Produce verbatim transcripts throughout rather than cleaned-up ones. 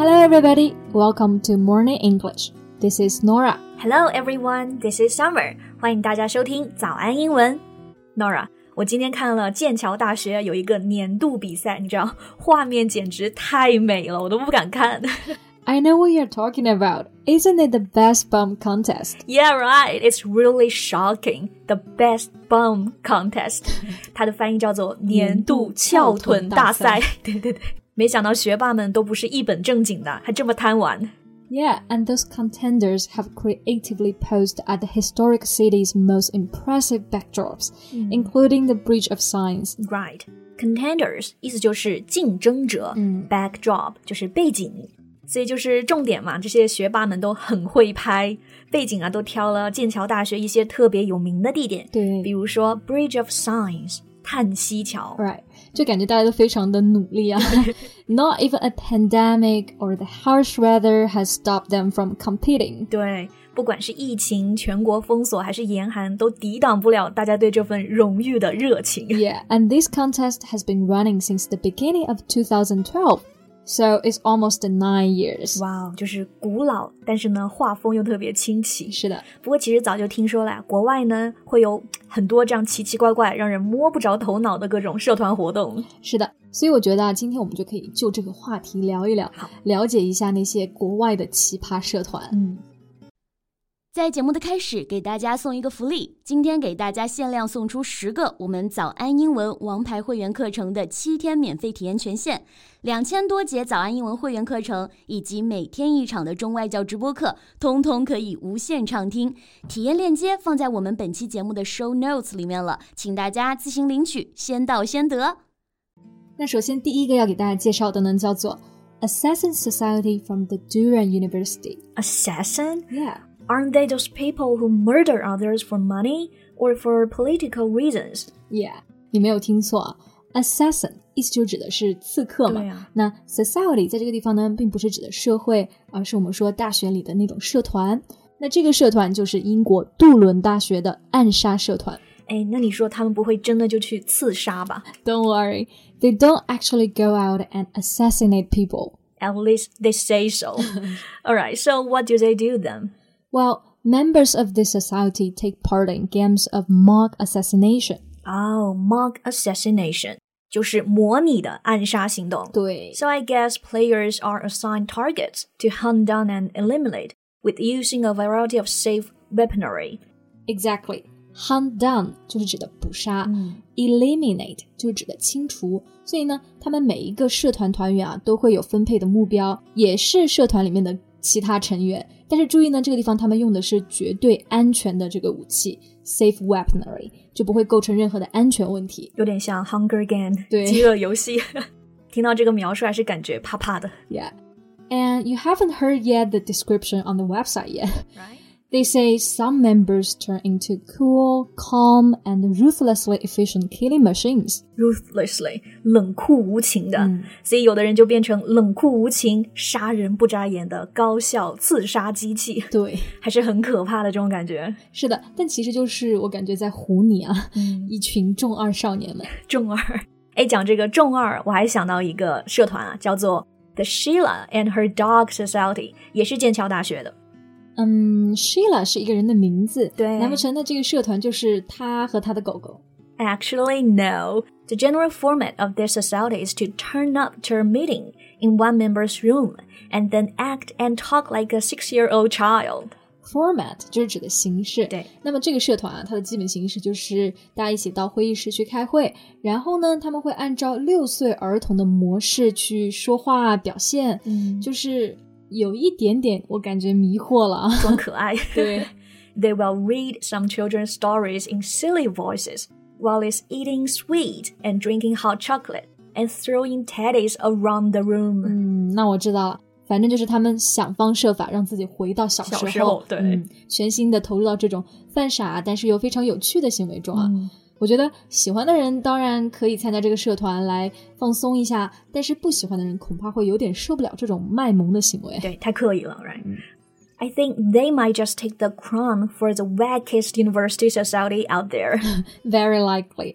Hello everybody, welcome to Morning English. This is Nora. Hello everyone, this is Summer. 欢迎大家收听早安英文。Nora, 我今天看了剑桥大学有一个年度比赛，你知道画面简直太美了，我都不敢看。 I know what you're talking about. Isn't it the best bum contest? Yeah, right. It's really shocking. The best bum contest. 它的翻译叫做年度翘臀大赛。对对对，没想到学霸们都不是一本正经的，还这么贪玩。 Yeah, and those contenders have creatively posed at the historic city's most impressive backdrops, mm. including the Bridge of Sighs. Right. Contenders 意思就是竞争者，嗯 backdrop 就是背景。所以就是重点嘛，这些学霸们都很会拍，背景啊都挑了剑桥大学一些特别有名的地点， 对， 比如说 Bridge of Sighs 叹息桥 Right， 就感觉大家都非常的努力啊Not even a pandemic or the harsh weather has stopped them from competing. 对，不管是疫情、全国封锁还是严寒，都抵挡不了大家对这份荣誉的热情。 Yeah, and this contest has been running since the beginning of twenty twelve.So it's almost nine years. Wow, 就是古老，但是呢，画风又特别清奇。 是的， 不过其实早就听说了，国外呢会有很多这样奇奇怪怪、让人摸不着头脑的各种社团活动。 是的，所以我觉得啊，今天我们就可以就这个话题聊一聊，了解一下那些国外的奇葩社团。 嗯。 在节目的开始，给大家送一个福利，今天给大家限量送出十个我们早安英文王牌会员课程的七天免费体验权限，两千多节早安英文会员课程以及每天一场的中外教直播课，通通可以无限畅听。体验链接放在我们本期节目的 show notes 里面了，请大家自行领取，先到先得。 那首先第一个要给大家介绍的呢，叫做 Assassin Society from the Durham University. Assassin? Yeah.Aren't they those people who murder others for money or for political reasons? Yeah, 你没有听错啊 Assassin 意思就指的是刺客嘛、 啊、 那 Society 在这个地方呢并不是指的社会，而是我们说大学里的那种社团。那这个社团就是英国杜伦大学的暗杀社团。 哎，那你说他们不会真的就去刺杀吧？ Don't worry, they don't actually go out and assassinate people. At least they say so. Alright, so what do they do then?Well, members of this society take part in games of mock assassination. Oh, mock assassination. 就是模拟的暗杀行动。 对。 So I guess players are assigned targets to hunt down and eliminate with using a variety of safe weaponry. Exactly. Hunt down 就是指的捕杀、 嗯、 eliminate 就是指的清除。所以呢，他们每一个社团团员啊都会有分配的目标，也是社团里面的其他成员，但是注意呢，这个地方他们用的是绝对安全的这个武器 safe weaponry， 就不会构成任何的安全问题， 有点像 Hunger Game 对饥饿游戏听到这个描述还是感觉怕怕的。 Yeah, and you haven't heard yet the description on the website yet. Right? They say some members turn into cool, calm, and ruthlessly efficient killing machines. Ruthlessly, 冷酷无情的、嗯、所以有的人就变成冷酷无情、杀人不眨眼的高效刺杀机器。 对， 还是很可怕的这种感觉。 是的，但其实就是我感觉在唬你啊、 嗯、 一群重二少年们。 重二，哎，讲这个重二，我还想到一个社团啊，叫做 The Sheila and Her Dog Society， 也是剑桥大学的。 嗯 Sheila 是一个人的名字， 对， 难不成那这个社团就是他和他的狗狗？ Actually, no. The general format of their society is to turn up to a meeting in one member's room and then act and talk like a six-year-old child. Format 就是指的形式。 对， 那么这个社团啊，它的基本形式就是大家一起到会议室去开会，然后呢，他们会按照六岁儿童的模式去说话表现， 嗯， 就是有一点点我感觉迷惑了啊， 装可爱。 对 ，They will read some children's stories in silly voices while it's eating sweet and drinking hot chocolate and throwing teddies around the room. 嗯，那我知道了，反正就是他们想方设法让自己回到小时候， 小时候对、 嗯，全心的投入到这种犯傻但是又非常有趣的行为中啊。 嗯， 我觉得喜欢的人当然可以参加这个社团来放松一下，但是不喜欢的人恐怕会有点受不了这种卖萌的行为。 对，太刻意了 right、嗯、I think they might just take the crown for the wackest university society out there. Very likely.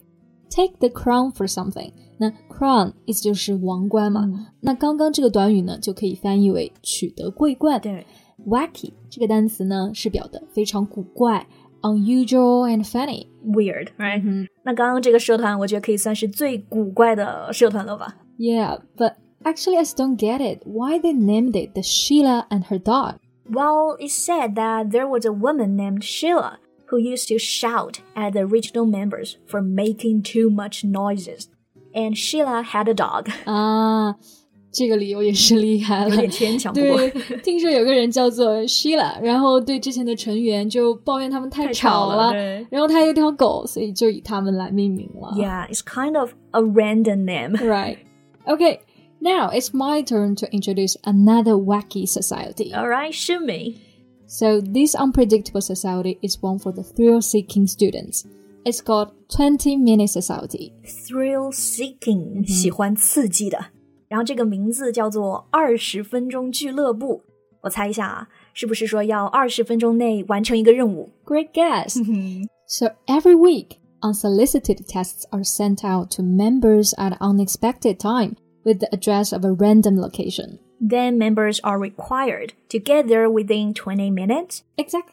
take the crown for something。 那 crown 意思就是王冠嘛、嗯、那刚刚这个短语呢就可以翻译为取得桂冠。 对， wacky 这个单词呢是表的非常古怪， unusual and funny， weird right、 嗯、 那刚刚这个社团我觉得可以算是最古怪的社团了吧。 Yeah, but actually I still don't get it. Why they named it the Sheila and her dog? Well, it said that there was a woman named Sheila who used to shout at the original members for making too much noises. And Sheila had a dog. 啊，这个理由也是厉害了， 有点牵强。不过对，听说有个人叫做 Sheila， 然后对之前的成员就抱怨他们太吵了， 对， 然后他有条狗，所以就以他们来命名了。 Yeah, it's kind of a random name. Right. Okay, now it's my turn to introduce another wacky society. All right, shoot me. So this unpredictable society is one for the thrill-seeking students.It's called twenty-minute society. Thrill-seeking、嗯、喜欢刺激的。然后这个名字叫做二十分钟俱乐部。我猜一下啊，是不是说要二十分钟内完成一个任务？ Great guess. So every week, unsolicited texts are sent out to members at an unexpected time with the address of a random location. Then members are required to get there within twenty minutes.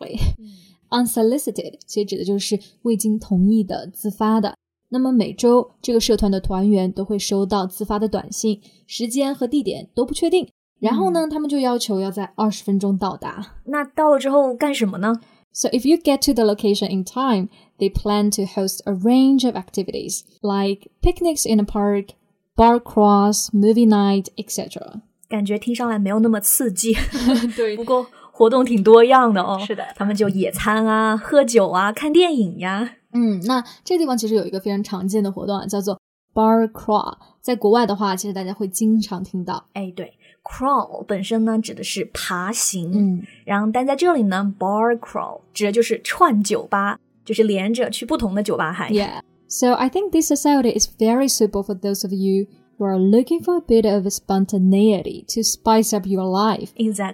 Exactly.Unsolicited 其实指的就是未经同意的自发的，那么每周这个社团的团员都会收到自发的短信，时间和地点都不确定，然后呢、嗯、他们就要求要在二十分钟到达。 那到了之后干什么呢？ So if you get to the location in time, they plan to host a range of activities like picnics in a park, bar crawls, movie night, et cetera. 感觉听上来没有那么刺激。 对， 不过活动挺多样的哦。 是的， 他们就野餐啊、喝酒啊、看电影呀。 嗯，那这个地方其实有一个非常常见的活动啊，叫做 bar crawl。在国外的话，其实大家会经常听到。 哎，对 ，crawl 本身呢指的是爬行， 嗯， 然后但在这里呢 ，bar crawl 指的就是串酒吧，就是连着去不同的酒吧嗨。 Yeah, so I think this society is very suitable for those of you who are looking for a bit of spontaneity to spice up your life.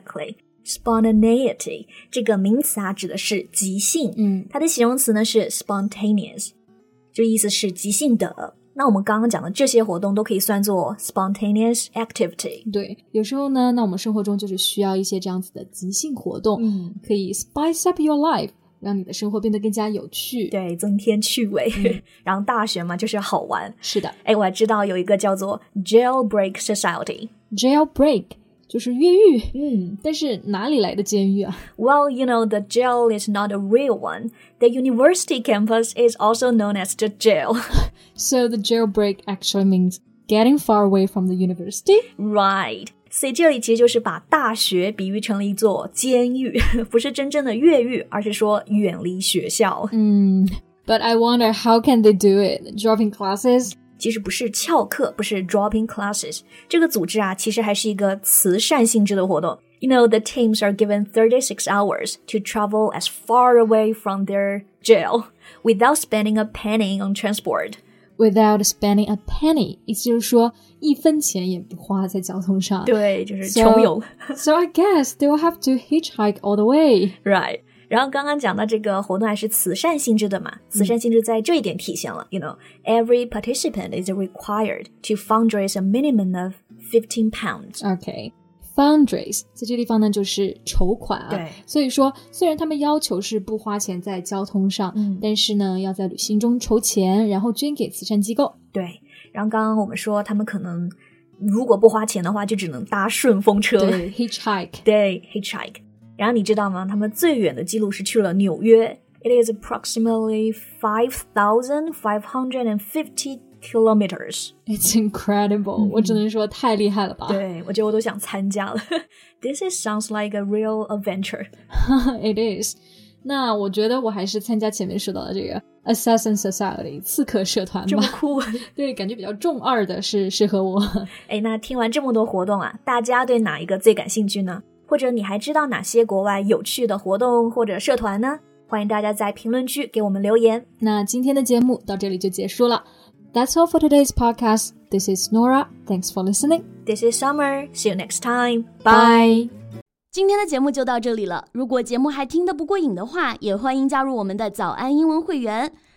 Exactly.Spontaneity 这个名词啊指的是即兴， 嗯， 它的形容词呢是 spontaneous， 就意思是即兴的。那我们刚刚讲的这些活动都可以算作 spontaneous activity。 对，有时候呢，那我们生活中就是需要一些这样子的即兴活动， 嗯， 可以 spice up your life， 让你的生活变得更加有趣， 对，增添趣味、嗯、然后大学嘛就是好玩。 是的， 哎，我还知道有一个叫做 jailbreak society。 jailbreak就是越狱， 嗯， 但是哪里来的监狱啊？ Well, you know, the jail is not a real one. The university campus is also known as the jail. So the jailbreak actually means getting far away from the university? Right. 所以这里其实就是把大学比喻成了一座监狱，不是真正的越狱，而是说远离学校。 嗯 But I wonder how can they do it? Dropping classes? 其实不是翘课，不是 dropping classes。这个组织啊，其实还是一个慈善性质的活动。You know, the teams are given thirty-six hours to travel as far away from their jail without spending a penny on transport. Without spending a penny， 意思就是说一分钱也不花在交通上。 对，就是穷游。 So, so I guess they will have to hitchhike all the way. Right.然后刚刚讲到这个活动还是慈善性质的嘛，慈善性质在这一点体现了、嗯、You know, every participant is required to fundraise a minimum of fifteen pounds. Okay, fundraise 在这地方呢就是筹款啊。 对， 所以说虽然他们要求是不花钱在交通上、 嗯、 但是呢要在旅行中筹钱，然后捐给慈善机构。 对，然后刚刚我们说他们可能如果不花钱的话就只能搭顺风车。 对 hitchhike 对 hitchhike。然后你知道吗？他们最远的记录是去了纽约。It is approximately five thousand five hundred fifty kilometers. It's incredible、嗯、我只能说太厉害了吧。 对，我觉得我都想参加了。This is sounds like a real adventure. It is. 那我觉得我还是参加前面说到的这个 Assassin Society 刺客社团吧。 这么酷。 对，感觉比较中二的是适合我。 哎，那听完这么多活动啊，大家对哪一个最感兴趣呢？或者你还知道哪些国外有趣的活动或者社团呢？欢迎大家在评论区给我们留言。 那今天的节目到这里就结束了。That's all for today's podcast. This is Nora. Thanks for listening. This is Summer. See you next time. Bye. 今天的节目就到这里了。如果节目还听得不过瘾的话，也欢迎加入我们的早安英文会员。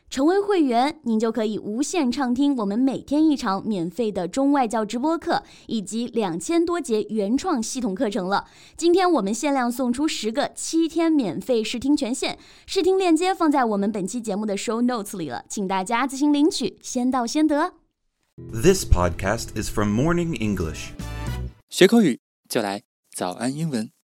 成为会员，您就可以无限畅听我们每天一场免费的中外教直播课，以及两千多节原创系统课程了。今天我们限量送出十个七天免费试听权限，试听链接放在我们本期节目的 show notes 里了，请大家自行领取，先到先得。 This podcast is from Morning English. 学口语就来早安英文。